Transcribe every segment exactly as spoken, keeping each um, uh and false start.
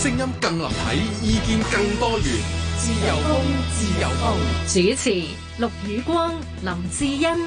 聲音更立體，意見更多元。自由風，自由風。 主持：陸宇光、林志欣。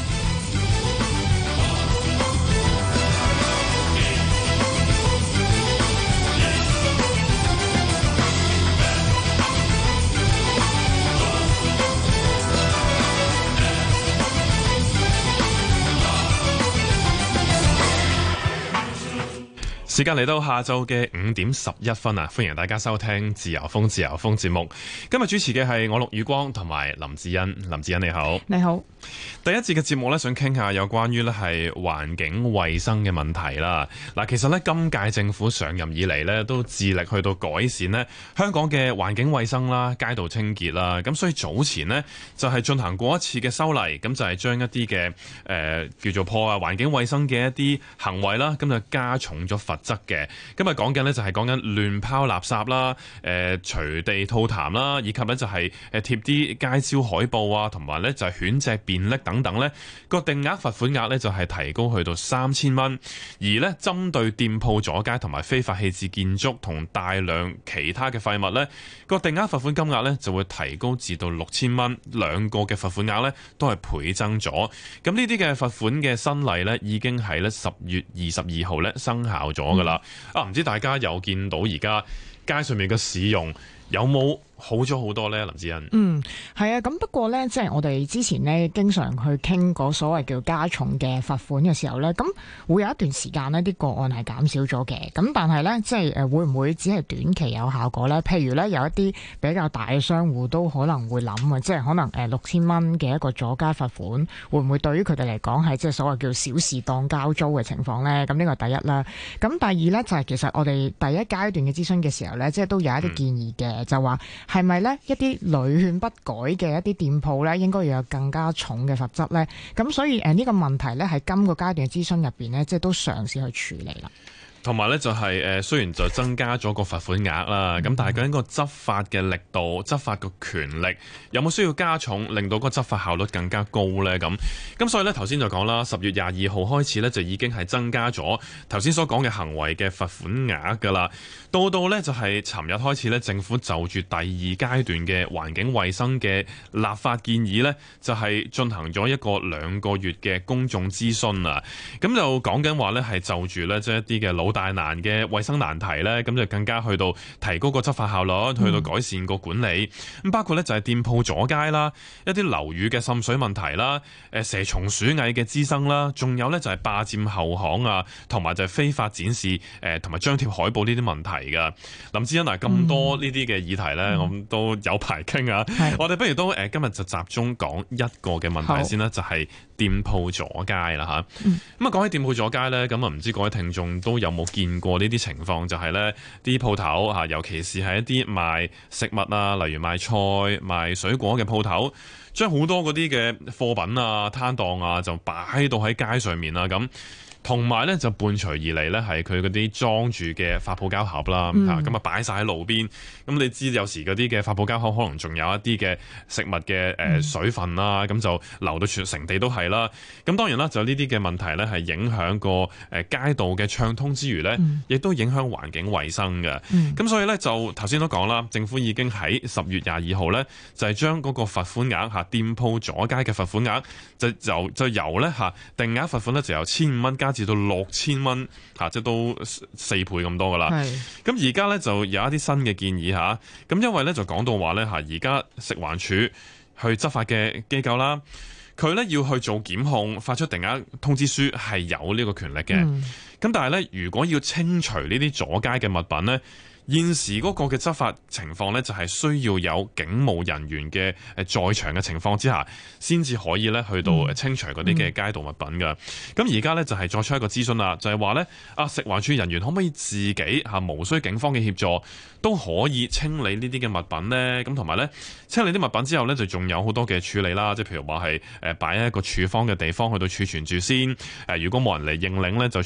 時間嚟到下晝嘅五點十一分啊！歡迎大家收聽自由風自由風節目。今日主持嘅係我陸宇光同埋林志欣。林志欣你好， 你好。 第一節嘅節目咧，想傾下有關於咧係環境衛生嘅問題啦。嗱，其實咧今屆政府上任以嚟咧，都致力去到改善咧香港嘅環境衛生啦、街道清潔啦。咁所以早前呢，就係進行過一次嘅修例，咁就係將一啲嘅誒叫做破壞環境衛生嘅一啲行為啦，咁就加重咗罰則嘅。今日講緊呢，就係講緊亂拋垃圾啦、誒隨地吐痰啦，以及咧就係誒貼啲街招海報啊，同埋咧就係犬隻便溺等等咧，個定額罰款額咧就係提高去到三千蚊，而咧針對店鋪阻街同埋非法棄置建築同大量其他嘅廢物咧，個定額罰款金額咧就會提高至到六千蚊，兩個嘅罰款額咧都係倍增咗。咁呢啲嘅罰款嘅新例咧已經係咧十月二十二號咧生效咗噶啦。啊，唔知大家有見到而家街上面嘅市容有冇好咗好多呢？林志欣。 嗯，係啊，咁不過呢，即係我哋之前呢經常去傾嗰所謂叫加重嘅罰款嘅時候呢，咁會有一段時間呢啲個案係減少咗嘅。咁但係呢，即係誒會唔會只係短期有效果呢？譬如呢，有一啲比較大嘅商戶都可能會諗啊，即係可能誒六千蚊嘅一個阻街罰款，會唔會對於佢哋嚟講係即係所謂叫小事當交租嘅情況呢？咁呢個第一啦。咁第二呢，就係其實我哋第一階段嘅諮詢嘅時候呢，即係都有一啲建議嘅，嗯、就話。係咪呢一啲屢勸不改嘅一啲店鋪呢，應該要有更加重嘅罰則呢？咁所以誒呢個問題呢，喺今個階段嘅諮詢入邊呢，即係都嘗試去處理啦。 同埋咧就係誒，雖然就增加咗個罰款額啦，咁、嗯、但係究竟個執法嘅力度、執法個權力有冇需要加重，令到個執法效率更加高呢？咁咁所以咧頭先就講啦，十月廿二號開始咧就已經係增加咗頭先所講嘅行為嘅罰款額㗎啦。到到咧就係尋日開始咧，政府就住第二階段嘅環境衛生嘅立法建議咧，就係進行咗一個兩個月嘅公眾諮詢啊。咁就講緊話咧係就住咧即係一啲嘅老大難嘅衛生難題咧，咁就更加去到提高個執法效率，去到改善個管理。咁、嗯、包括咧就係店鋪阻街啦，一啲樓宇嘅滲水問題啦，誒蛇蟲鼠蟻嘅滋生啦，仲有咧就係霸佔後巷啊，同埋就係非法展示誒同埋張貼海報呢啲問題噶。林志欣嗱，咁多呢啲嘅議題咧，我、嗯、都有排傾啊。我哋不如都誒今日就集中講一個嘅問題先啦，就係、是、店鋪阻街啦吓。咁、嗯、啊講起店鋪阻街咧，咁啊唔知各位聽眾都有冇見過呢啲情況，就係呢啲鋪頭嚇，尤其是係一啲賣食物啊，例如賣菜、賣水果嘅鋪頭，將好多嗰啲嘅貨品啊、攤檔啊，就擺到喺街上面啦咁。同埋咧就伴隨而嚟咧係佢嗰啲裝住嘅發泡膠盒啦，嚇咁啊擺晒喺路邊。咁你知有時嗰啲嘅發泡膠盒可能仲有一啲嘅食物嘅誒水分啦，咁、嗯、就流到全成地都係啦。咁當然啦，就呢啲嘅問題咧係影響個誒街道嘅暢通之餘咧，亦、嗯、都影響環境衛生嘅。咁、嗯、所以咧就頭先都講啦，政府已經喺十月廿二號咧就係將嗰個罰款額嚇店鋪阻街嘅罰款額就由就由咧嚇定額罰款咧就由千五蚊加至到六千蚊嚇，即係都四倍咁多噶啦。咁而家咧就有一啲新嘅建議嚇，咁因為咧就講到話咧嚇，而家食環署去執法嘅機構啦，佢咧要去做檢控，發出定額通知書係有呢個權力嘅。咁、嗯、但係咧，如果要清除呢啲阻街嘅物品咧，現時嗰個嘅執法情況呢，就係需要有警務人員嘅誒在場嘅情況之下，先至可以咧去到清除嗰啲嘅街道物品㗎。咁而家呢，就係作出一個諮詢啦，就係話呢，啊食環署人員可唔可以自己嚇無需警方嘅協助都可以清理呢啲嘅物品呢？咁同埋呢，清理啲物品之後呢，就仲有好多嘅處理啦，即係譬如話係誒擺喺一個處方嘅地方去到儲存住先。誒如果冇人嚟認領呢，就處理咗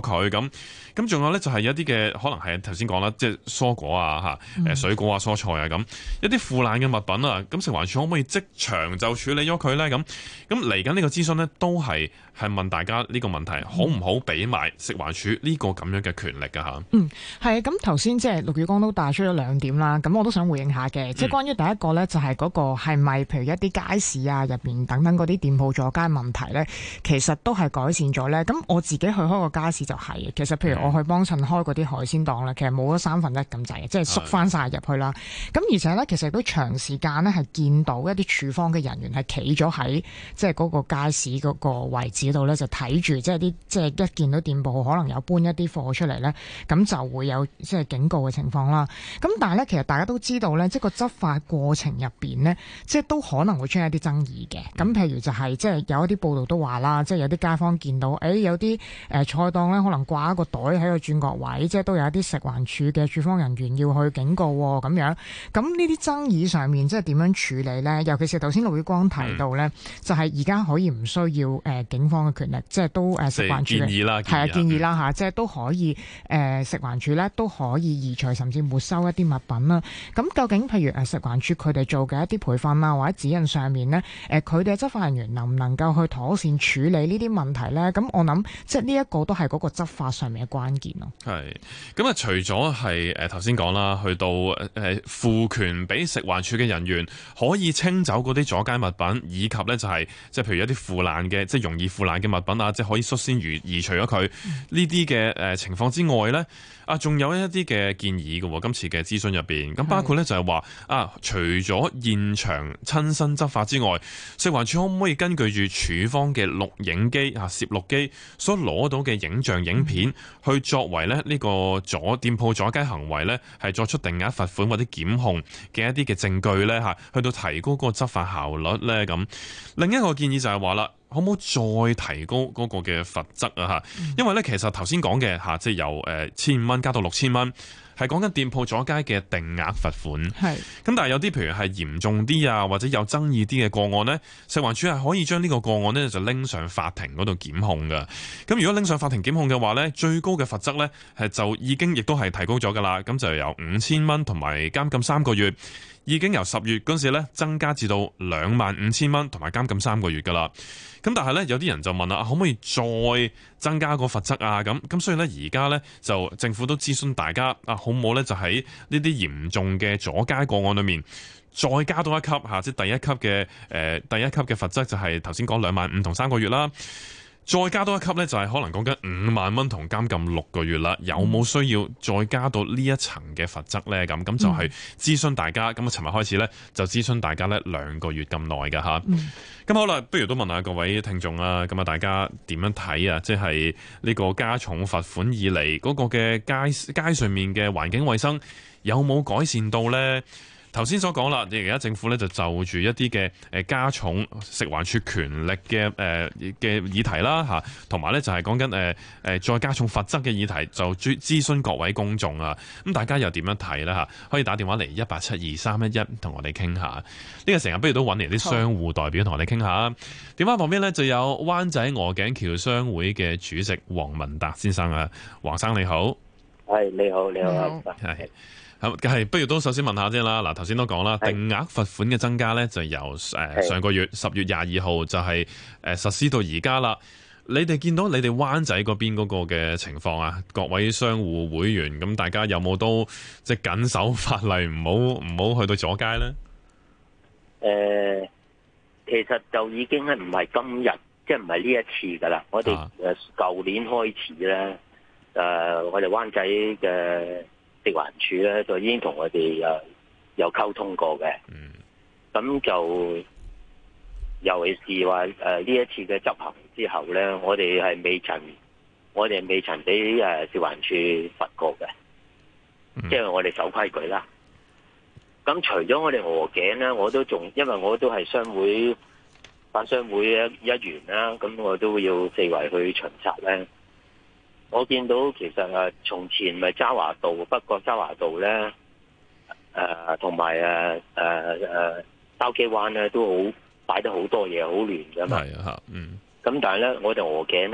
佢咁。咁仲有咧就係有一啲嘅可能係頭先講啦，即係蔬果啊嚇，誒水果啊蔬菜啊咁，一啲腐爛嘅物品啊，咁食環署可唔可以即場就處理咗佢咧？咁咁嚟緊呢個諮詢咧，都係係問大家呢個問題，好唔好俾埋食環署呢個咁樣嘅權力㗎嚇？ 嗯，係咁頭先即係陸宇光都帶出咗兩點啦，咁我都想回應下嘅，即係關於第一個咧，就係嗰個係咪譬如一啲街市啊入邊等等嗰啲店鋪阻街問題咧，其實都係改善咗咧。咁我自己去開個街市就係、是，其實譬如我去幫襯開嗰啲海鮮檔咧，其實冇咗三分一咁滯嘅，即係縮翻晒入去啦。咁而且咧，其實都長時間咧係見到一啲處方嘅人員係企咗喺即係嗰個街市嗰個位置度咧，就睇住即係啲即係一見到店鋪可能有搬一啲貨出嚟咧，咁就會有即係警告嘅情況啦。咁但係咧，其實大家都知道咧，即係個執法過程入邊咧，即係都可能會出現一啲爭議嘅。咁譬如就係、是、即係有一啲報道都話啦，即係有啲街坊見到，誒、哎、有啲誒、呃、菜檔咧，可能掛一個袋喺個轉角位，即係都有一啲食環署嘅處方人員要去警告咁樣。咁呢啲爭議上面即係點樣處理咧？尤其是頭先陸宇光提到咧，嗯、就係而家可以唔需要誒、呃、警方嘅權力，即係都誒、呃、食環署建議啦， 係啊建議啦嚇，即係都可以誒、呃、食環署咧都可以移除甚至沒收一啲物品啦。咁究竟譬如誒食環署佢哋做嘅一啲培訓啊或者指引上面咧，誒佢哋嘅執法人員能唔能夠去妥善處理呢啲問題咧？咁我諗即係呢一個都係嗰個執法上面嘅關鍵咯。 係咁啊，除咗係誒頭先講啦，去到誒賦權俾食環署嘅人員可以清走嗰啲阻街物品，以及咧就係即係譬如一啲腐爛嘅即係容易腐爛嘅物品啊，即係可以率先移移除咗佢呢啲嘅誒情況之外咧。啊，仲有一啲嘅建議嘅喎，今次嘅諮詢入邊，咁包括咧就係話啊，除咗現場親身執法之外，食環署可唔可以根據住署方嘅錄影機啊、攝錄機所攞到嘅影像影片，去作為咧呢個阻店鋪阻街行為咧，係作出定額罰款或者檢控嘅一啲嘅證據咧嚇，去到提高嗰個執法效率咧咁。另一個建議就係話啦，可唔可以再提高嗰個嘅罰則啊？嚇，因為咧其實頭先講嘅嚇，即係由誒千五蚊加到六千蚊，係講緊店鋪阻街嘅定額罰款。係。咁但係有啲譬如係嚴重啲啊，或者有爭議啲嘅個案呢，食環署係可以將呢個個案呢就拎上法庭嗰度檢控㗎。咁如果拎上法庭檢控嘅話呢，最高嘅罰則呢係就已經亦都係提高咗㗎啦。咁就由五千蚊同埋監禁三個月，已經由十月嗰陣時咧增加至到兩萬五千蚊同埋監禁三個月㗎啦。咁但係咧有啲人就問啦，可唔可以再增加個罰則啊？咁咁所以咧而家咧就政府都諮詢大家啊，好唔好咧就喺呢啲嚴重嘅阻街個案裏面再加多一級嚇，即係第一級嘅誒、呃、第一級嘅罰則就係頭先講兩萬五同三個月啦。再加多一級呢，就係可能講緊五萬蚊同監禁六個月啦。有冇需要再加到呢一層嘅罰則呢？咁咁就係諮詢大家。咁啊，尋日開始呢，就諮詢大家呢兩個月咁耐㗎吓。咁、嗯、好啦，不如都問下各位聽眾啦。咁啊，大家點樣睇啊？即係呢個加重罰款以嚟嗰個嘅街街上面嘅環境衛生有冇改善到呢？頭先所講啦，而家政府咧就就住一啲嘅誒加重食環署權力嘅誒嘅議題啦嚇，同埋咧就係講緊誒誒再加重罰則嘅議題，就諮諮詢各位公眾啊。咁大家又點樣睇咧嚇？可以打電話嚟一八七二三一一同我哋傾下。呢、這個成日不如都揾嚟啲商戶代表同我哋傾下。電話旁邊咧就有灣仔鵝頸橋商會嘅主席黃文達先生啊，黃生你好。 係你好，你好。 係。係，不如都首先問下先啦。嗱，頭先都講啦，定額罰款嘅增加咧，就由誒上個月十月廿二號就係誒實施到而家啦。你哋見到你哋灣仔嗰邊嗰個嘅情況啊，各位商戶會員咁，大家有冇都即係緊守法例，唔好唔好去到阻街咧？ 誒、呃，其實就已經係唔係今日，即係唔係呢一次噶啦。我哋誒舊年開始咧，誒、呃、我哋灣仔嘅食環署咧就已經同我哋誒有溝通過嘅，咁、嗯、就尤其是話誒呢一次嘅執行之後咧，我哋係未曾，我哋未曾俾誒食環署罰過嘅，即係、嗯、我哋守規矩啦。咁除咗我哋鵝頸咧，我都仲因為我都係商會反商會一一員啦，咁我都要四圍去巡查咧。我見到其實誒，從前咪渣華道、北角渣華道咧，誒同埋誒誒誒筲箕灣咧，都好擺得好多嘢，好亂㗎嘛。係啊，嗯。咁但係咧，我哋鵝頸咧，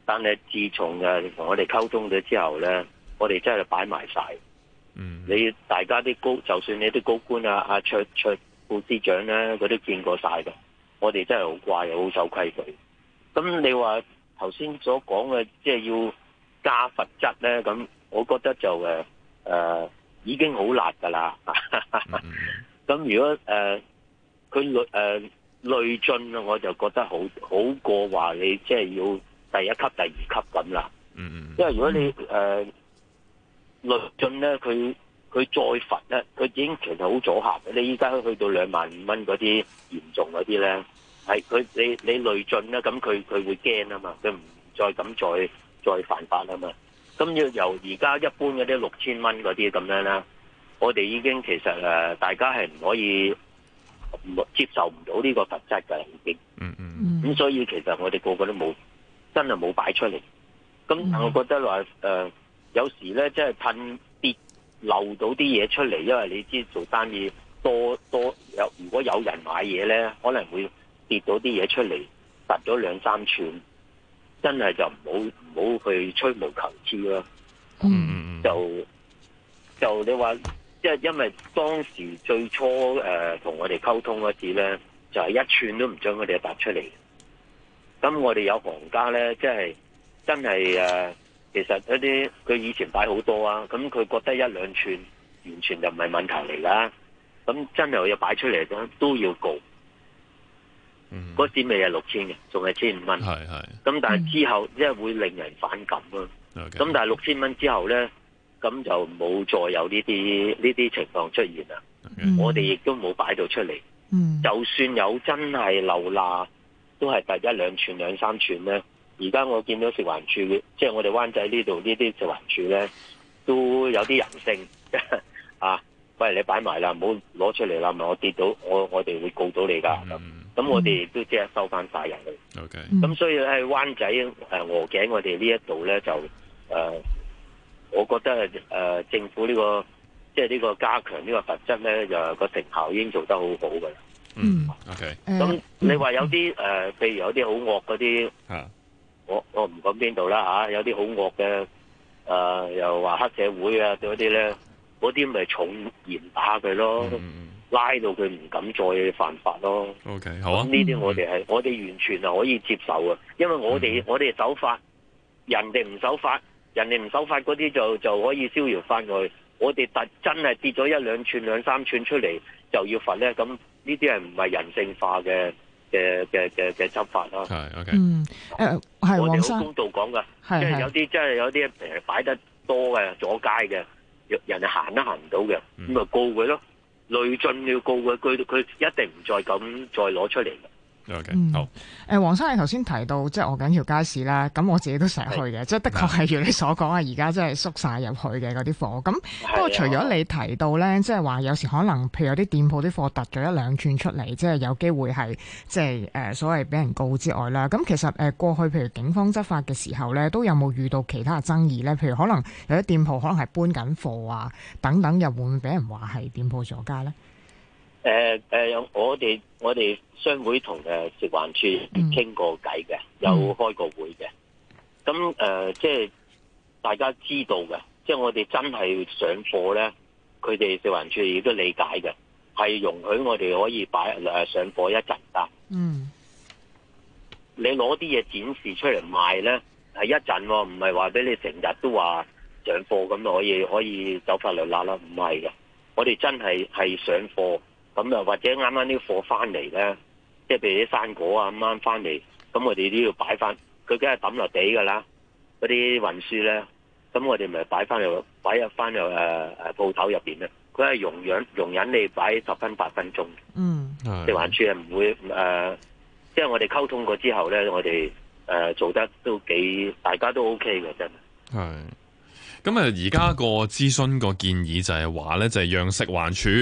但係自從誒同我哋溝通咗之後咧，我哋真係擺埋晒。 嗯， 你大家啲高，就算你啲高官啊，阿卓卓副司長咧，佢都見過晒嘅。我哋真係好乖，好守規矩。咁你話頭先所講嘅，即係要加罰則咧，咁我覺得就誒誒、呃、已經好辣噶啦。咁、嗯、如果誒佢累誒累進啊，我就覺得好好過話你即係要第一級、第二級咁啦。嗯，因為如果你誒。呃累進咧，佢佢再罰咧，佢已經其實好阻嚇嘅。你依家去到兩萬五蚊嗰啲嚴重嗰啲咧，係佢你你累進咧，咁佢佢會驚啊嘛，佢唔再咁再再犯法啊嘛。咁要由而家一般嗰啲六千蚊嗰啲咁樣啦，我哋已經其實誒大家係唔可以唔接受唔到呢個罰則㗎，已經。嗯嗯。咁所以其實我哋個個都冇真係冇擺出嚟。咁我覺得話誒。呃有時咧，即係噴跌漏到啲嘢出嚟，因為你知做生意多多有，如果有人買嘢咧，可能會跌到啲嘢出嚟，突咗兩三寸，真係就唔好唔好去吹毛求疵咯。嗯，就就你話，即係因為當時最初誒同、呃、我哋溝通嗰次咧，就係、是、一寸都唔將佢哋突出嚟。咁我哋有行家咧，即係真係誒。呃其實嗰啲佢以前擺好多啊，咁佢覺得一兩寸完全就唔係問題嚟噶，咁真係要擺出嚟都都要告。嗯，嗰時未係六千嘅，仲係千五蚊。係係。咁但係之後即係會令人反感咯。咁、okay. 但係六千蚊之後咧，咁就冇再有呢啲呢啲情況出現啦。Okay. 我哋亦都冇擺到出嚟。嗯。就算有真係漏罅，都係第一兩寸兩三寸咧。而家我見到食環署嘅，即係我哋灣仔呢度呢啲食環署咧，都有啲人性啊！喂，你擺埋啦，唔好攞出嚟啦，咪我跌到，我我哋會告到你噶。咁、嗯、咁我哋亦都即係收翻晒人去。OK。咁所以喺灣仔誒鵝頸我哋呢一度咧就誒、呃，我覺得誒、呃、政府呢、這個即係呢個加強呢個罰則咧，就個成效已經做得好好噶啦。嗯。OK。咁你話有啲誒、呃，譬如有啲好惡嗰啲。啊。我我唔講邊度啦吓，有啲好惡嘅，誒又話黑社會啊嗰啲咧，嗰啲咪重嚴打佢咯，嗯、拉到佢唔敢再犯法咯。OK， 好啊。呢啲我哋係、嗯、我哋完全係可以接受啊，因為我哋、嗯、我哋守法，人哋唔守法，人哋唔守法嗰啲就就可以逍遙翻去。我哋特真係跌咗一兩寸兩三寸出嚟就要罰咧，咁呢啲係唔係人性化嘅？嘅嘅嘅嘅執法咯，係 OK，嗯，誒、呃，係我哋好公道講噶，即係有啲即係有啲誒擺得多嘅阻街嘅，人哋行都行唔到嘅，咁、嗯、咪告佢咯，累進要告佢，佢佢一定唔再咁再攞出嚟嘅。Okay, 嗯，好。誒，黃生，你頭先提到即係鵝頸條街市啦，咁我自己都成日去嘅，即係的確係如你所講啊，而家真係縮晒入去嘅嗰啲貨。咁不過除咗你提到咧，即係話有時可能譬如有啲店鋪啲貨突咗一兩寸出嚟，即係有機會係即係誒所謂俾人告之外啦。咁其實誒過去譬如警方執法嘅時候咧，都有冇遇到其他嘅爭議咧？譬如可能有啲店鋪可能係搬緊貨啊，等等，又會唔會俾人話係店鋪阻街咧？ 誒、呃、誒、呃，我哋我哋商會同誒食環署傾過偈嘅、嗯，有開過會嘅。咁誒、呃，即係大家知道嘅，即係我哋真係上貨咧，佢哋食環署亦都理解嘅，係容許我哋可以擺誒上貨一陣㗎。嗯，你攞啲嘢展示出嚟賣咧，係一陣喎，唔係話俾你成日都話上貨咁就可以可以走法律罅啦，唔係嘅，我哋真係係上貨。咁啊，或者啱啱啲貨翻嚟咧，即係譬如啲生果啊，啱啱翻嚟，咁我哋都要擺翻，佢梗係抌落地噶啦，嗰啲運輸咧，咁我哋咪擺翻入，擺入翻入誒誒鋪頭入邊咧，佢係容忍容忍你擺十分八分鐘。嗯，食環署係唔會誒，即、呃、係、就是、我哋溝通過之後咧，我哋誒、呃、做得都幾，大家都 OK 嘅，真係。係。咁啊，而家個諮詢個建議就係話咧，就係讓食環署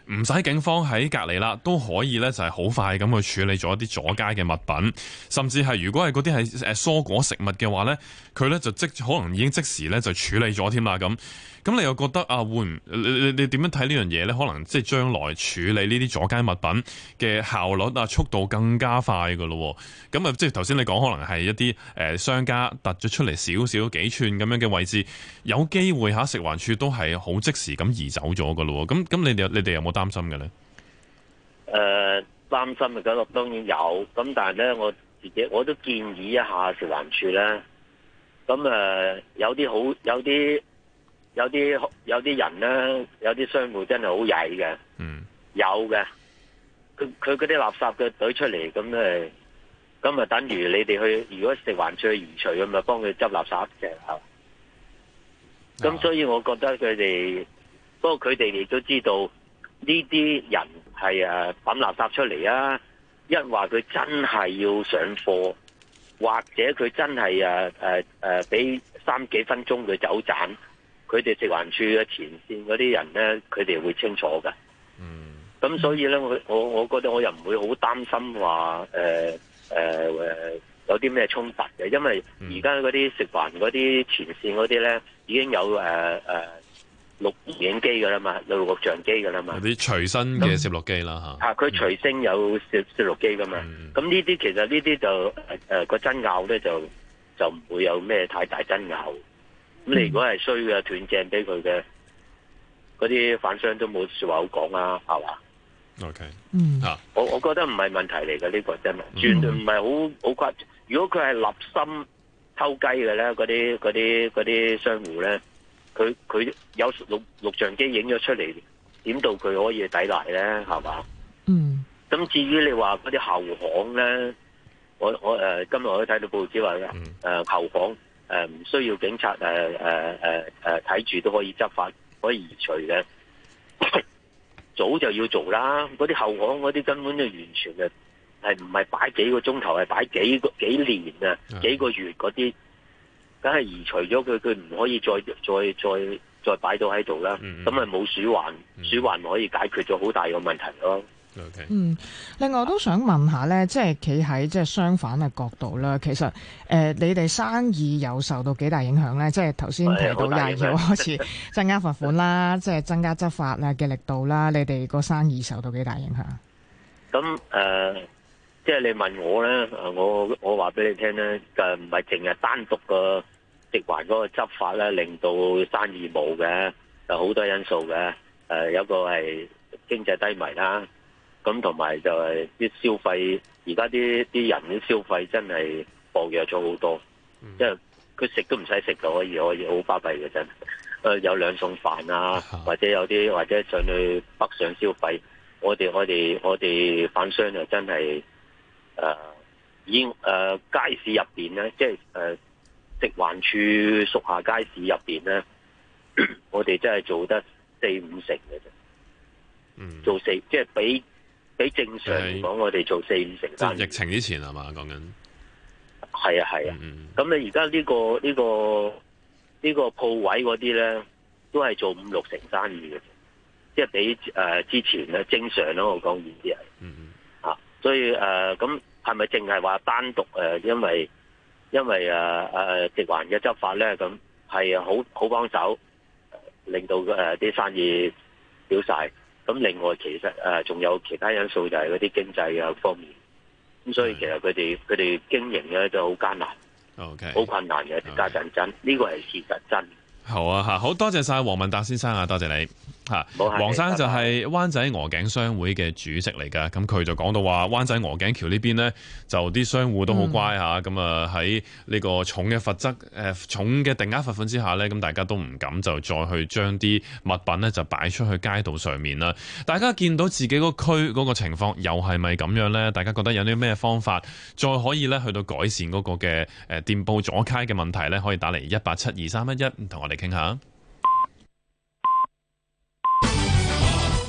唔使警方喺隔離啦，都可以咧就係好快咁去處理咗一啲阻街嘅物品，甚至係如果係嗰啲係誒蔬果食物嘅話咧，佢咧就即可能已經即時咧就處理咗添啦咁。咁你又覺得啊，會唔你你你點樣睇呢樣嘢咧？可能即係將來處理呢啲阻街物品嘅效率啊、速度更加快噶咯。咁啊，即係頭先你講，可能係一啲誒商家突咗出嚟少少幾寸咁樣嘅位置，有機會嚇食環署都係好即時咁移走咗噶咯。咁咁你哋你哋有冇擔心嘅咧？ 誒、呃，擔心嘅嗰個當然有，咁但係咧，我自己我都建議一下食環署咧。咁誒、呃，有啲好有啲。有啲有啲人咧，有啲商戶真係好曳嘅，嗯，有嘅，佢佢嗰啲垃圾嘅隊出嚟，咁誒，咁啊等於你哋去，如果食環署去移除，咁咪幫佢執垃圾嘅，係。咁、啊、所以我覺得佢哋，不過佢哋亦都知道呢啲人係誒抌垃圾出嚟啊，一話佢真係要上貨，或者佢真係誒誒誒俾三幾分鐘佢走盞。佢哋食環署嘅前線嗰啲人咧，佢哋會清楚嘅。嗯，咁所以咧，我我我覺得我又唔會好擔心話誒誒誒有啲咩衝突嘅，因為而家嗰啲食環嗰啲前線嗰啲咧，已經有誒誒錄影機㗎啦嘛，有錄像機㗎啦嘛， 有啲隨身嘅攝錄機啦嚇。 啊，佢隨聲有攝攝錄機㗎嘛。咁呢啲其實呢啲就誒誒個爭拗咧就就唔會有咩太大爭拗。咁你如果係衰嘅斷正俾佢嘅，嗰啲販商都冇說話好講啊，係嘛 ？OK， 嗯， 啊， 我我覺得唔係問題嚟嘅呢個真係，絕對唔係好好誇。如果佢係立心偷雞嘅咧，嗰啲嗰啲嗰啲商戶咧，佢佢有錄錄像機影咗出嚟，點到佢可以抵賴咧，係嘛？ 嗯。 咁至於你話嗰啲後巷咧，我我誒、呃、今日我都睇到報紙話嘅，誒、 嗯呃、後巷。誒、呃、唔需要警察誒誒誒誒睇住都可以執法，可以移除嘅。早就要做啦！嗰啲後巷嗰啲根本就完全係係唔係擺幾個鐘頭，係擺幾個幾年啊，幾個月嗰啲，梗係移除咗佢，佢唔可以再再再再擺到喺度啦。咁咪冇鼠患，鼠患可以解決咗好大個問題咯。 Okay. 嗯，另外我都想問下咧，即係企喺即係相反嘅角度啦。其實誒、呃，你哋生意有受到幾大影響咧？即係頭先提到廿二號開始增加罰款啦，即係增加執法啊嘅力度啦。你哋個生意受到幾大影響？ 咁誒、呃，即係你問我咧，我我話俾你聽咧，誒唔係淨係單獨個食環嗰個執法咧，令到生意冇嘅，有好多因素嘅。誒、呃，有個係經濟低迷啦。咁同埋就係啲消費，而家啲啲人啲消費真係薄弱咗好多，即係佢食都唔使食就可以可以好巴閉嘅真。誒有兩餸飯啊，或者有啲或者上去北上消費，我哋我哋我哋販商就真係誒已經誒街市入邊咧，即係誒食環署屬下街市入邊咧，我哋真係做得四五成嘅啫。嗯，做四即係比。比正常嚟講，我哋做四五成單。 即係疫情之前係嘛講緊？ 係啊係啊。咁你而家呢個呢、呢個呢、呢個鋪位嗰啲咧，都係做五六成生意嘅，即係比誒、呃、之前咧正常咯。我講意思係。嗯嗯。啊，所以誒，咁係咪淨係話單獨誒、呃？因為因為誒誒食環嘅執法咧，咁係好好幫手，令到誒啲、呃、生意少晒。咁另外其實誒仲有其他因素，就係嗰啲經濟啊方面，咁所以其實佢哋佢哋經營咧就好艱難，OK，好困難嘅，家陣真呢個係事實真。 好啊嚇，好多謝晒黃文達先生啊，多謝你嚇。黃生就係灣仔鵝頸商會嘅主席嚟㗎，咁佢就講到話灣仔鵝頸橋呢邊呢，就啲商戶都好乖嚇，咁啊喺呢個重嘅罰則誒、呃、重嘅定額罰款之下呢，咁大家都唔敢就再去將啲物品呢就擺出去街道上面啦。大家見到自己個區嗰個情況又係咪咁樣呢？大家覺得有啲咩方法再可以呢去到改善嗰個嘅誒店鋪阻街嘅問題呢？可以打嚟一八七二三一一同我哋傾下。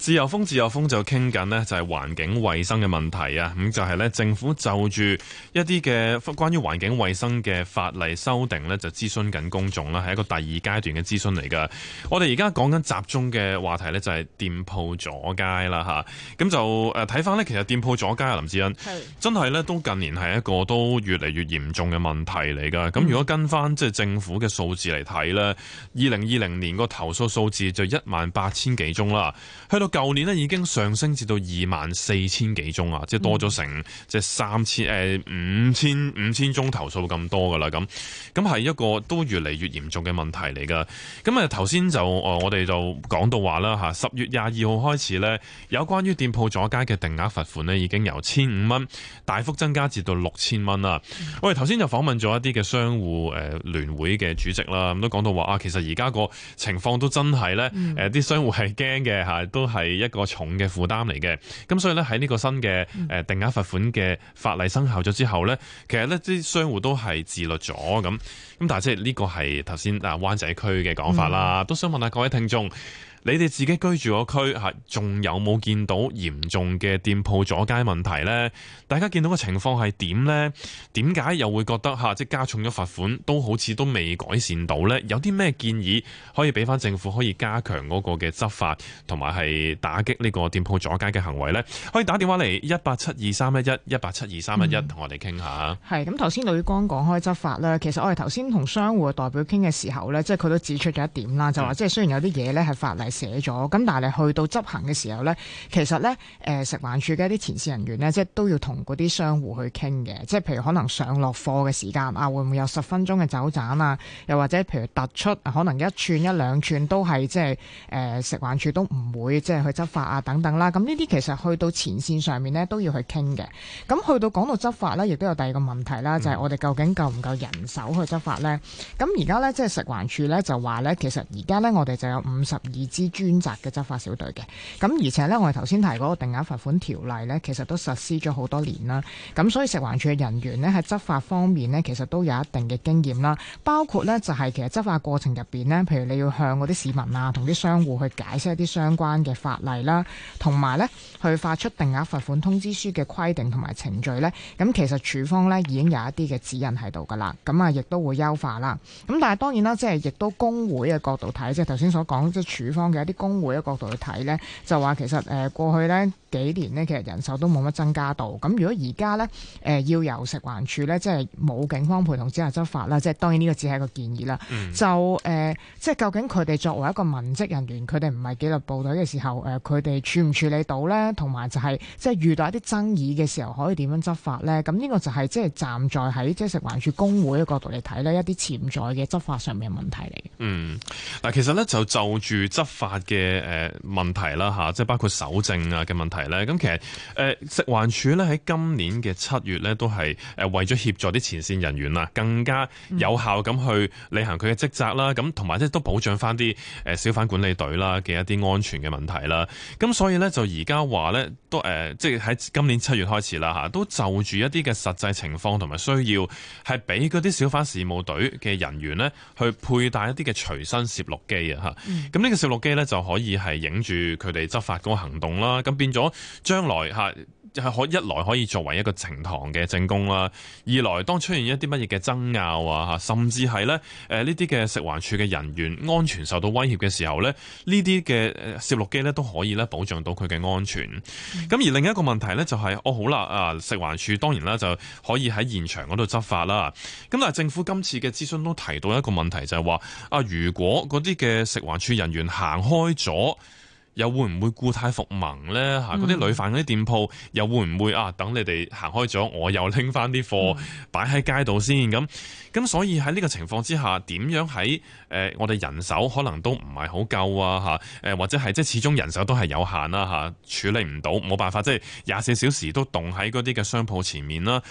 自由風自由風就傾緊呢，就係環境衛生嘅問題啊。咁就係呢，政府就住一啲嘅關於環境衛生嘅法例修訂呢，就諮詢緊公眾啦，係一個第二階段嘅諮詢嚟噶。我哋而家講緊集中嘅話題呢，就係店鋪阻街啦吓。咁就誒睇翻呢，其實店鋪阻街啊，林志恩真係呢，都近年係一個都越嚟越嚴重嘅問題嚟噶。咁、嗯、如果跟翻即係政府嘅數字嚟睇呢，二零二零年個投訴數字就一萬八千幾宗啦，去到舊年呢，已經上升至到二萬四千幾宗啊，即係多咗成即係三千誒五千五千宗投訴咁多噶啦。咁咁係一個都越嚟越嚴重嘅問題嚟噶。咁啊頭先就誒我哋就講到話啦嚇，十月廿二號開始呢，有關於店鋪阻街嘅定額罰款呢，已經由千五蚊大幅增加至到六千蚊啦。我哋頭先就訪問咗一啲嘅商戶誒聯會嘅主席啦，咁都講到話啊，其實而家個情況都真係呢，誒啲商戶係驚嘅嚇，都係一個重嘅負擔嚟嘅。咁所以呢，喺呢個新嘅誒定額罰款嘅法例生效咗之後呢，其實呢啲商戶都係自律咗咁。咁但係即係呢個係頭先啊灣仔區嘅講法啦，嗯、都想問下各位聽眾。你哋自己居住嗰區嚇，仲有冇見到嚴重嘅店鋪阻街問題呢？大家見到嘅情況係點呢？點解又會覺得嚇即加重咗罰款都好似都未改善到呢？有啲咩建議可以俾翻政府可以加強嗰個嘅執法，同埋係打擊呢個店鋪阻街嘅行為呢？可以打電話嚟一八七二三一一一八七二三一一同我哋傾下。係咁頭先呂光講開執法啦，其實我哋頭先同商戶嘅代表傾嘅時候呢，即係佢都指出咗一點啦，就話即係雖然有啲嘢呢係法例寫咗，咁但係你去到執行嘅時候咧，其實咧，誒、呃、食環署嘅一啲前線人員咧，即係都要同嗰啲商戶去傾嘅，即係譬如可能上落貨嘅時間啊，會唔會有十分鐘嘅走盞啊？又或者譬如突出可能一寸一兩寸都係即係誒食環署都唔會即係去執法啊等等啦。咁呢啲其實去到前線上面咧都要去傾嘅。咁去到講到執法咧，亦都有第二個問題啦，就係、是、我哋究竟夠唔夠人手去執法咧？咁而家咧即係食環署咧就話咧，其實而家咧我哋就有五十二支專責嘅執法小隊嘅，咁而且呢，我哋頭先提嗰個定額罰款條例呢，其實都實施咗好多年啦。咁所以食環署嘅人員呢，喺執法方面呢，其實都有一定嘅經驗啦。包括呢，就係其實執法過程入邊呢，譬如你要向嗰啲市民啊，同啲商戶去解釋一啲相關嘅法例啦，同埋呢去發出定額罰款通知書嘅規定同埋程序呢。咁其實署方呢，已經有一啲嘅指引喺度噶啦。咁啊，亦都會優化啦。咁但係當然啦，即係亦都工會嘅角度睇，即係頭先所講，即係署方嘅一啲工會嘅角度去睇呢，就話其實誒過去呢幾年呢，其實人手都冇乜增加到。咁如果而家呢，誒要由食環署呢，即係冇警方陪同之下執法啦，即係當然呢個只係一個建議啦。嗯、就誒、呃，即係究竟佢哋作為一個文職人員，佢哋唔係紀律部隊嘅時候，誒佢哋處唔處理到呢？同埋就係、是、即係遇到一啲爭議嘅時候，可以點樣執法呢？咁呢個就係即係站在喺即係食環署工會嘅角度嚟睇呢，一啲潛在嘅執法上面嘅問題嚟。嗯， 嗱，其實呢，就就住執法嘅誒問題啦嚇，即係包括搜證啊嘅問題咧。咁其實誒食環署咧喺今年嘅七月咧，都係誒為咗協助啲前線人員啊，更加有效咁去履行佢嘅職責啦。咁同埋即係都保障翻啲誒小販管理隊啦嘅一啲安全嘅問題啦。咁所以咧就而家話咧都誒，即係喺今年七月開始啦嚇，都就住一啲嘅實際情況同埋需要，係俾嗰啲小販事務隊嘅人員咧去佩戴一啲嘅隨身攝錄機啊嚇。咁呢個攝錄機咧就可以係影住佢哋執法嗰個行動啦。咁變咗將來嚇係可一來可以作為一個呈堂嘅證供啦，二來當出現一啲乜嘢嘅爭拗啊嚇，甚至係咧誒呢啲嘅食環署嘅人員安全受到威脅嘅時候咧，呢啲嘅誒攝錄機咧都可以咧保障到佢嘅安全。咁、嗯、而另一個問題咧就係、是，哦好啦啊，食環署當然啦就可以喺現場嗰度執法啦。咁但係政府今次嘅諮詢都提到一個問題，就係話啊，如果嗰啲嘅食環署人員行開咗，又會唔會故態復萌咧？嚇、嗯，嗰啲累犯嗰啲店鋪又會唔會啊？等你哋行開咗，我又拎翻啲貨擺喺街度先咁。咁所以喺呢個情況之下，點樣喺誒、呃、我哋人手可能都唔係好夠啊？嚇，誒或者係即係始終人手都係有限啦嚇，處理唔到，冇辦法即係廿四小時都棟喺嗰啲嘅商鋪前面啦。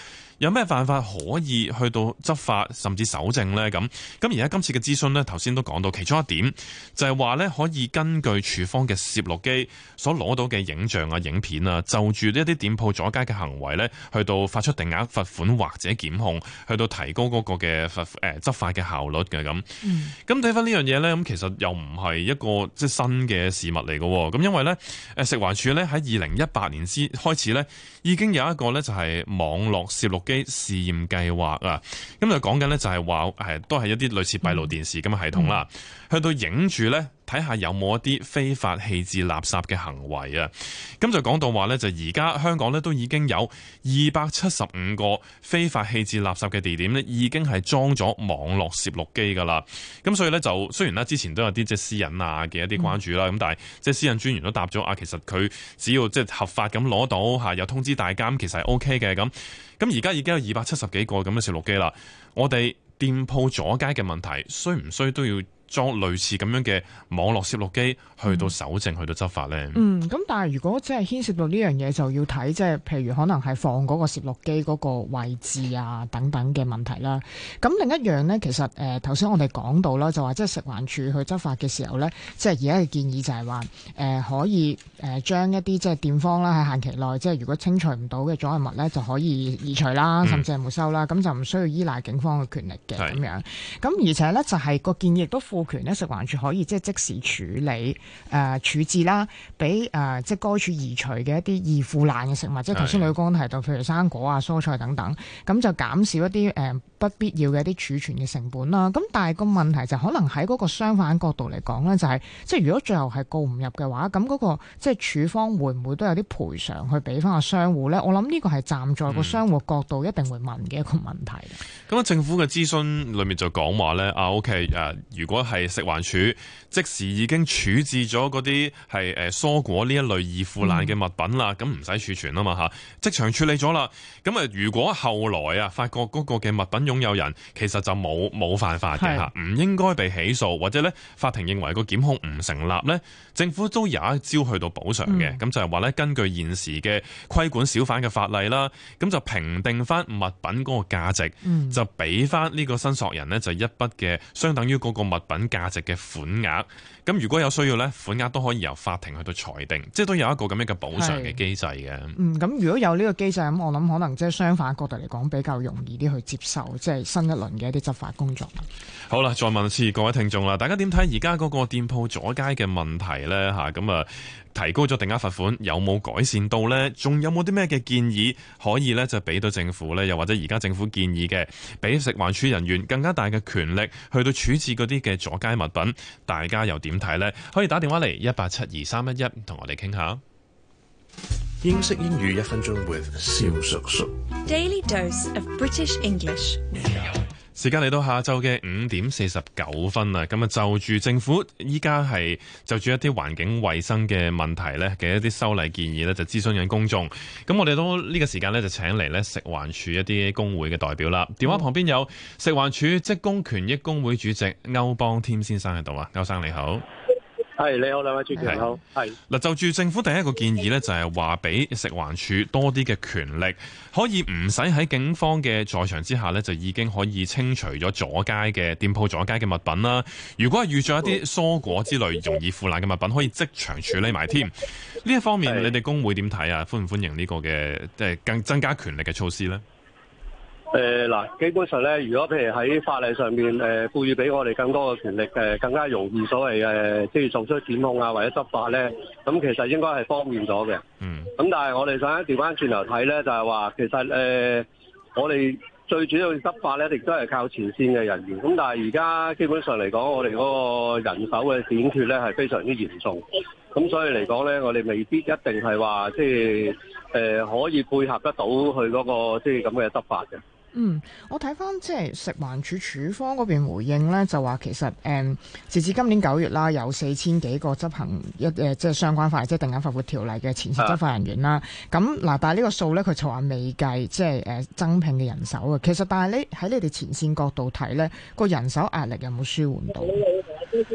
有咩辦法可以去到執法甚至搜證呢？咁咁而家今次嘅諮詢呢，頭先都講到其中一點就係話呢，可以根據處方嘅攝錄機所攞到嘅影像啊、影片啊，就住呢一啲店鋪阻街嘅行為呢，去到發出定額罰款或者檢控，去到提高嗰個嘅罰誒執法嘅效率嘅咁。咁睇翻呢樣嘢呢，咁其實又唔係一個即係新嘅事物嚟嘅。咁因為呢，誒食環署呢喺二零一八年先開始呢，已經有一個呢就係網絡攝錄機試驗計劃啊。咁就講緊呢，就係話誒都係一啲類似閉路電視咁嘅系統啦，去到影住呢，睇下有冇一啲非法棄置垃圾嘅行為啊。咁就講到話呢，就而家香港呢都已經有二百七十五個非法棄置垃圾嘅地點呢，已經係裝咗網絡攝錄機噶啦。咁所以呢，就雖然呢之前都有啲即係私隱啊嘅一啲關注啦，咁、嗯、但係即係私隱專員都答咗啊，其實佢只要即係合法咁攞到嚇，有通知大家，其實係 O K 嘅咁。咁而家已經有二百七十幾個咁嘅攝錄機啦。我哋店鋪阻街嘅問題，需唔需都要裝類似咁樣嘅網絡攝錄機去到搜證、嗯、去到執法呢？ 嗯，咁但係如果即係牽涉到呢樣嘢，就要睇即係譬如可能係放嗰個攝錄機嗰個位置啊等等嘅問題啦。咁另一樣呢，其實誒頭先我哋講到啦，就話即係食環署去執法嘅時候呢，即係而家嘅建議就係話誒可以誒將一啲即係店方啦喺限期內，即係如果清除唔到嘅阻礙物呢，就可以移除啦，甚至係沒收啦。咁、嗯、就唔需要依賴警方嘅權力嘅咁樣。咁而且呢，就係、是、個建議亦都賦權咧，食環署可以即係即時處理誒、呃、處置啦，俾誒、呃、即係該處移除嘅一啲易腐爛嘅食物，即係頭先呂光提到，譬如生果啊、蔬菜等等，咁就減少一啲誒、呃、不必要嘅一啲儲存嘅成本啦。咁但係個問題就可能喺嗰個相反角度嚟講咧，就係、是、即係如果最後係告唔入嘅話，咁嗰、那個即係處方會唔會都有啲賠償去俾翻個商戶咧？我諗呢個係站在個商戶角度一定會問嘅一個問題。 咁、嗯、啊，政府嘅諮詢裏面就講話咧，啊 OK 誒、啊，如果係食環署即時已經處置咗嗰啲係誒蔬果呢一類易腐爛嘅物品啦，咁唔使儲存啊嘛嚇，即場處理咗啦。咁啊，如果後來啊發覺嗰個嘅物品擁有人其實就冇冇犯法嘅嚇，唔應該被起訴，或者咧法庭認為個檢控唔成立咧，政府都有一招去到補償嘅。咁、嗯、就係話咧，根據現時嘅規管小販嘅法例啦，咁就評定翻物品嗰個價值，嗯、就俾翻呢個申索人呢，就一筆嘅相等於嗰個物品價值嘅款額。咁如果有需要咧，款額都可以由法庭去到裁定，即係都有一個咁樣嘅補償嘅機制嘅。嗯， 咁如果有呢個機制，咁我諗可能即係相反角度嚟講，比較容易啲去接受，即係新一輪嘅一啲執法工作。 好啦，再問一次各位聽眾啦，大家點睇而家嗰個店鋪阻街嘅問題咧？吓，咁啊，提高咗定額罰款，有冇改善到咧？仲有冇啲咩嘅建議可以咧就俾到政府咧？又或者而家政府建議嘅，俾食環署人員更加大嘅權力去到處置嗰啲嘅阻街物品，大家又點睇咧？可以打電話嚟一八七二三一一同我哋傾下。 英式英語一分鐘 with 蕭叔叔。 Daily dose of British English。 時間嚟到下晝嘅五點四十九分啦，咁啊就住政府依家係就住一啲環境衛生嘅問題咧嘅一啲修例建議咧，就諮詢緊公眾。咁我哋都呢個時間咧就請嚟咧食環署一啲工會嘅代表啦。電話旁邊有食環署職工權益工會主席歐邦添先生喺度啊，歐生你好。 係，你好，兩位主持人好。係嗱，就住政府第一個建議咧，就係話俾食環署多啲嘅權力，可以唔使喺警方嘅在場之下咧，就已經可以清除咗阻街嘅店鋪阻街嘅物品啦。如果係遇咗一啲蔬果之類容易腐爛嘅物品，可以即場處理埋添。呢一方面，你哋工會點睇啊？歡唔歡迎呢個嘅即係更增加權力嘅措施咧？ 誒嗱，基本上咧，如果譬如喺法例上面誒賦予俾我哋更多嘅權力，誒更加容易所謂誒即係做出檢控啊或者執法咧，咁其實應該係方便咗嘅。嗯。咁但係我哋想調翻轉頭睇咧，就係話其實誒、呃、我哋最主要執法咧，亦都係靠前線嘅人員。咁但係而家基本上嚟講，我哋嗰個人手嘅短缺咧係非常之嚴重。咁所以嚟講咧，我哋未必一定係話即係誒可以配合得到佢嗰個即係咁嘅執法嘅。 嗯，我睇翻即係食環署署方嗰邊回應咧，就話其實誒、嗯，截至今年九月啦，有四千幾個執行一誒即係相關法例，即係定額罰款條例嘅前線執法人員啦。咁嗱、啊，但係呢個數咧，佢就話未計即係誒增聘嘅人手啊。其實，但係你喺你哋前線角度睇咧，個人手壓力有冇舒緩到？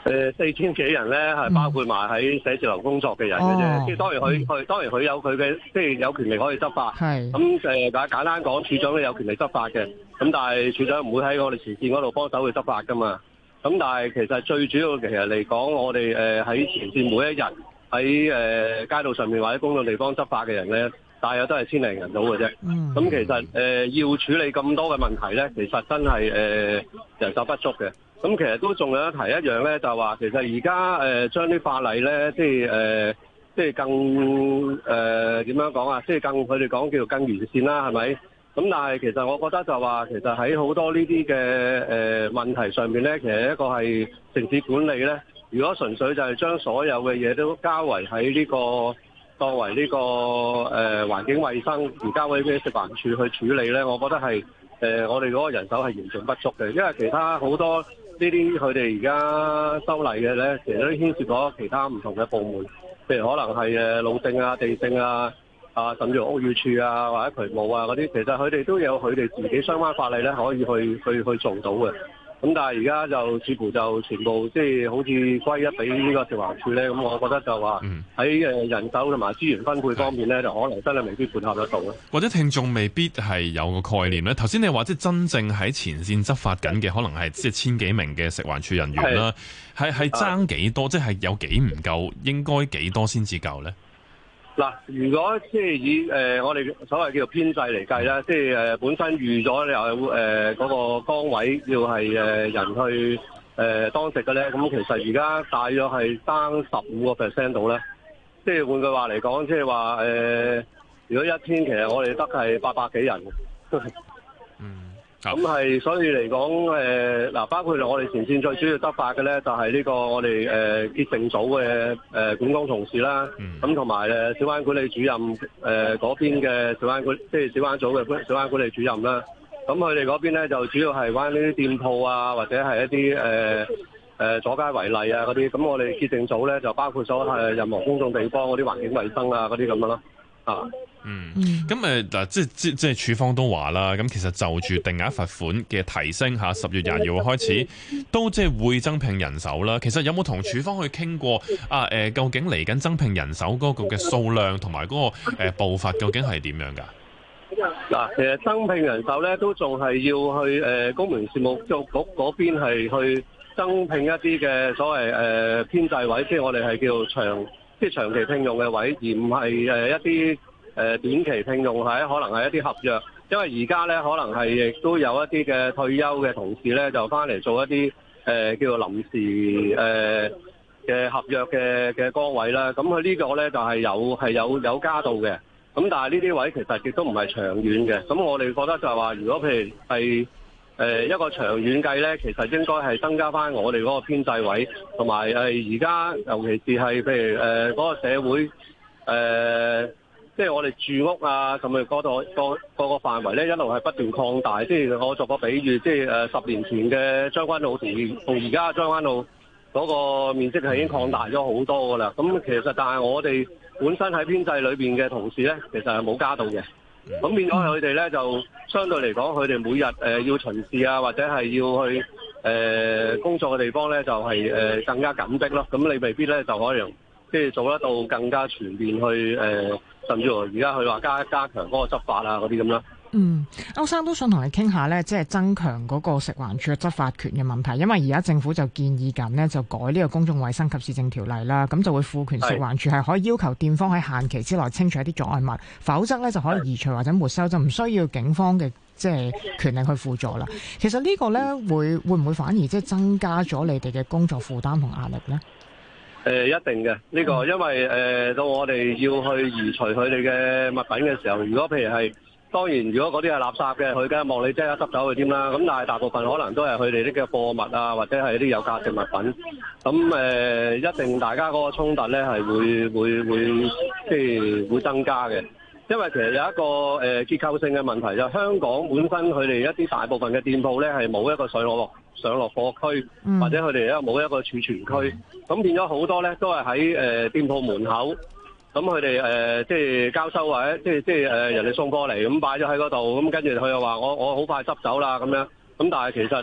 誒四千幾人咧，係包括埋喺寫字樓工作嘅人嘅啫。即、哦、係當然佢佢、嗯、當然佢有佢嘅，即係有權力可以執法。係咁誒，簡簡單講，處長都有權力執法嘅。咁但係處長唔會喺我哋前線嗰度幫手去執法噶嘛。咁但係其實最主要其實嚟講，我哋誒喺前線每一日喺誒街道上面或者公眾地方執法嘅人咧，大約都係千零人到嘅啫。咁、嗯、其實誒、呃、要處理咁多嘅問題咧，其實真係誒、呃、人手不足嘅。咁其實都仲有一提一樣咧，就係話其實而家誒將啲法例咧，即係誒、呃、即係更誒點樣講啊？即係更佢哋講叫做更完善啦，係咪？咁但係其實我覺得就話其實喺好多呢啲嘅誒問題上面咧，其實一個係城市管理咧。如果純粹就係將所有嘅嘢都交為喺呢個作為呢個誒環境衛生而交俾啲食環署去處理咧，我覺得係誒、呃、我哋嗰個人手係嚴重不足嘅，因為其他好多。呢啲佢哋而家修例嘅咧，其實都牽涉咗其他唔同嘅部門，譬如可能係誒路政啊、地政啊、啊甚至乎屋宇署啊或者渠務啊嗰啲，其實佢哋都有佢哋自己相關法例咧，可以去去去做到嘅。咁但係而家就似乎就全部即係好似歸一俾呢個食環署咧，咁我覺得就話喺誒人手同埋資源分配方面咧，就可能真係未必配合得到咯。 或者聽眾未必係有個概念咧。頭先你話即係真正喺前線執法緊嘅，可能係即係千幾名嘅食環署人員啦，係係爭幾多？即係有幾唔夠？應該幾多先至夠咧？ 嗱，如果即係以誒、呃、我哋所謂叫做編制嚟計咧，即係誒、呃、本身預咗有誒嗰個崗位要係誒、呃、人去誒、呃、當值嘅咧，咁其實而家大約係爭十五個 percent 到咧。即係換句話嚟講，即係話誒，如果一天其實我哋得係八百幾人。 嗯。 咁係，所以嚟講，誒、呃、嗱，包括我哋前線最主要執法嘅咧，就係、是、呢個我哋誒潔淨組嘅誒、呃、管工同事啦。咁同埋誒小灣管理主任誒嗰、呃、邊嘅小灣管，即係小灣組嘅小灣管理主任啦。咁佢哋嗰邊咧就主要係關呢啲店鋪啊，或者係一啲誒誒阻街違例啊嗰啲。咁我哋潔淨組咧就包括咗係任何公眾地方嗰啲環境衛生啊嗰啲咁樣咯。啊。 嗯，咁誒嗱，即係即即係署方都話啦，咁其實就住定額罰款嘅提升嚇，十月廿二號開始都即係會增聘人手啦。其實有冇同署方去傾過啊？誒、呃，究竟嚟緊增聘人手嗰個嘅數量同埋嗰個誒、呃、步伐究竟係點樣㗎？ 嗱，其實增聘人手咧都仲係要去誒、呃、公務員事務局嗰邊係去增聘一啲嘅所謂誒、呃、編制位，即係我哋係叫長即係長期聘用嘅位，而唔係誒一啲。誒短期聘用係可能係一啲合約，因為而家咧可能係亦都有一啲嘅退休嘅同事咧就翻嚟做一啲誒、呃、叫做臨時誒嘅、呃、合約嘅嘅崗位啦。咁佢呢個咧就係、是、有係有有加到嘅。咁但係呢啲位其實亦都唔係長遠嘅。咁我哋覺得就係話，如果譬如係誒、呃、一個長遠計咧，其實應該係增加翻我哋嗰個編制位，同埋誒而家尤其是係譬如誒嗰、呃那個社會誒。呃即係我哋住屋啊，咁啊嗰度個個個範圍咧，一路係不斷擴大。即係我作個比喻，即係誒十年前嘅將軍澳同同而家將軍澳嗰個面積係已經擴大咗好多噶啦。咁其實但係我哋本身喺編制裏邊嘅同事咧，其實係冇加到嘅。咁變咗佢哋咧就相對嚟講，佢哋每日誒、呃、要巡視啊，或者係要去誒、呃、工作嘅地方咧，就係、是、誒、呃、更加緊迫咯。咁你未必咧就可能即係做得到更加全面去誒。呃甚至乎而家佢話加加強嗰個執法啊嗰啲咁啦。 嗯，歐生都想同你傾下咧，即係增強嗰個食環署嘅執法權嘅問題，因為而家政府就建議緊呢，就改呢個公眾衛生及市政條例啦，咁就會賦權食環署係可以要求店方喺限期之內清除一啲阻礙物，否則咧就可以移除或者沒收，就唔需要警方嘅即係權力去輔助啦。其實呢個咧會會唔會反而即係增加咗你哋嘅工作負擔同壓力咧？ 誒、呃、一定嘅呢、這個，因為誒、呃、到我哋要去移除佢哋嘅物品嘅時候，如果譬如係當然，如果嗰啲係垃圾嘅，佢梗係望你即刻執走佢添啦。咁但係大部分可能都係佢哋啲嘅貨物啊，或者係一啲有價值物品。咁誒、呃、一定大家嗰個衝突咧係會會會即係會增加嘅。因為其實有一個誒、呃、結構性嘅問題，就香港本身佢哋一啲大部分嘅店鋪咧係冇一個上落上落貨區，嗯、或者佢哋咧冇一個儲存區，咁變咗好多咧都係喺誒店鋪門口，咁佢哋誒即係交收或者即係即係誒人哋送過嚟咁擺咗喺嗰度，咁跟住佢又話我我好快執走啦咁樣，咁但係其實誒、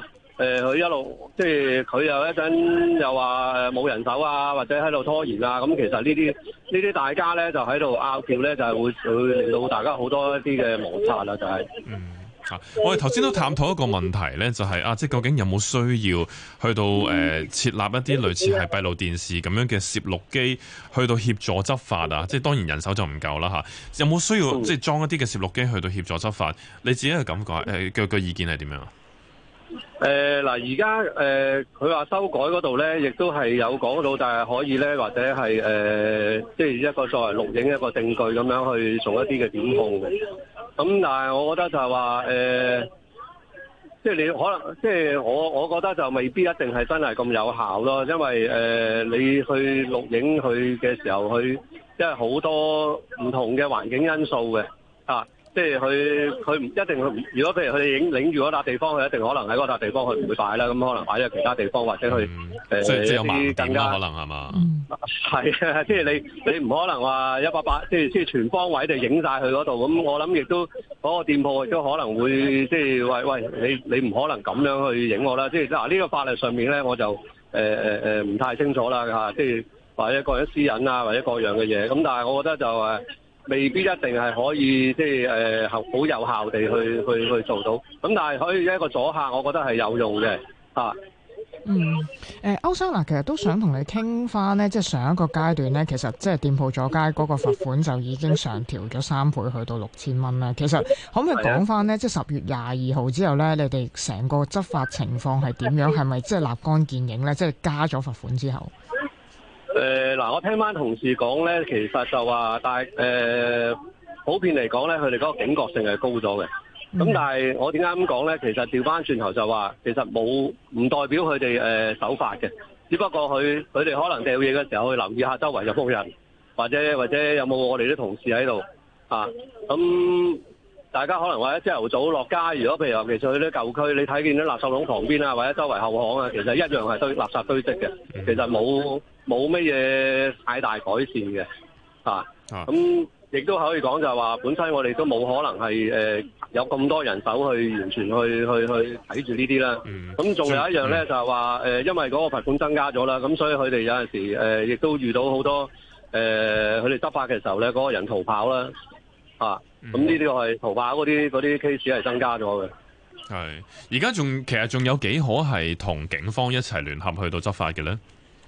誒佢、呃、一路即係佢又一陣又話誒冇人手啊，或者喺度拖延啊，咁其實呢啲呢啲大家咧就喺度拗撬咧，就係會會令到大家好多一啲嘅摩擦啦，就係、是。 嗯。啊、我哋頭先都探討一個問題咧，就係、是、啊，即係究竟有冇需要去到誒、呃、設立一啲類似係閉路電視咁樣嘅攝錄機，去到協助執法啊？即係當然人手就唔夠啦嚇。有冇需要、嗯、即係裝一啲嘅攝錄機去到協助執法？你自己嘅感覺誒嘅嘅意見係點樣啊？ 誒嗱，而家誒佢話修改嗰度咧，亦都係有講到，但係可以咧，或者係誒、呃、即係一個作為錄影一個證據咁樣去做一啲嘅檢控嘅。咁但係我覺得就係話誒，即係你可能即係我我覺得就未必一定係真係咁有效咯，因為誒、呃、你去錄影佢嘅時候，佢因為好多唔同嘅環境因素嘅啊。即係佢佢唔一定去，如果譬如佢哋影領住嗰笪地方，佢一定可能喺嗰笪地方佢唔會擺啦，咁可能擺咗其他地方或者去誒、 嗯呃、 即係有啲更加可能係嘛？ 係啊，即係你你唔可能話一百八，即係即係全方位地影晒佢嗰度。咁我諗亦都嗰、嗰個店鋪亦都可能會即係喂喂，你你唔可能咁樣去影我啦。即係嗱呢個法律上面咧，我就誒誒誒唔太清楚啦嚇。即係或者個人私隱啊，或者各樣嘅嘢。咁但係我覺得就誒。未必一定係可以即係誒好有效地去去去做到，咁但係可以一個阻嚇，我覺得係有用嘅啊。 嗯，誒、呃、歐生嗱，其實都想同你傾翻呢，即係上一個階段呢，其實即係店鋪阻街嗰個罰款就已經上調咗三倍，去到六千蚊啦。其實可唔可以講翻呢？即係十月廿二號之後呢，你哋成個執法情況係點樣？係咪即係立竿見影呢？即係加咗罰款之後？ 誒嗱、呃，我聽翻同事講咧，其實就話，但係誒普遍嚟講咧，佢哋嗰個警覺性係高咗嘅。咁、嗯、但係我點解咁講咧？其實調翻轉頭就話，其實冇唔代表佢哋誒守法嘅，只不過佢佢哋可能掉嘢嘅時候去留意下周圍有冇人，或者或者有冇我哋啲同事喺度啊。咁大家可能或者朝頭早落街，如果譬如尤其是去啲舊區，你睇見啲垃圾桶旁邊啊，或者周圍後巷啊，其實一樣係堆垃圾堆積嘅，其實冇。冇乜嘢太大改善嘅，啊，咁亦都可以講就係話，本身我哋都冇可能係誒、呃、有咁多人手去完全去去去睇住呢啲啦。咁仲、嗯、有一樣咧，嗯、就係話誒，因為嗰個罰款增加咗啦，咁所以佢哋有陣時誒，亦、呃、都遇到好多誒，佢、呃、哋執法嘅時候咧，嗰、那個人逃跑啦，啊，咁呢啲係逃跑嗰啲嗰啲 case 係增加咗嘅。 係，而家仲其實仲有幾可係同警方一齊聯合去到執法嘅咧？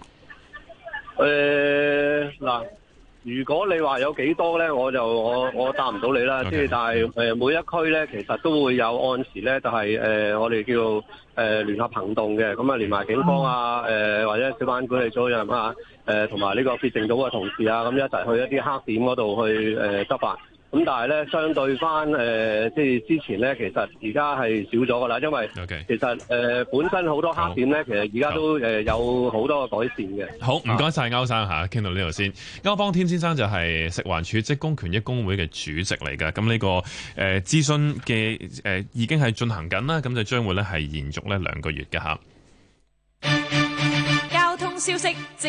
誒嗱、呃，如果你話有幾多咧，我就我我答唔到你啦。即係 Okay. 但係誒、呃、每一區咧，其實都會有按時咧，就係、是、誒、呃、我哋叫誒、呃、聯合行動嘅。咁啊，連埋警方啊，誒、呃、或者小販管理組人啊，誒同埋呢個潔淨組嘅同事啊，咁一齊去一啲黑點嗰度去誒、呃、執法。咁但係咧，相對翻誒、呃，即係之前咧，其實而家係少咗噶啦，因為其實誒 Okay.、呃、本身好多黑點咧，好其實而家都誒有好多嘅改善嘅。好，唔該晒歐生嚇，傾到呢度先。歐邦添先生就係食環署職工權益工會嘅主席嚟㗎。咁呢、這個誒、呃、諮詢嘅誒、呃、已經係進行緊啦，咁就將會咧係延續咧兩個月嘅嚇。 交通消息。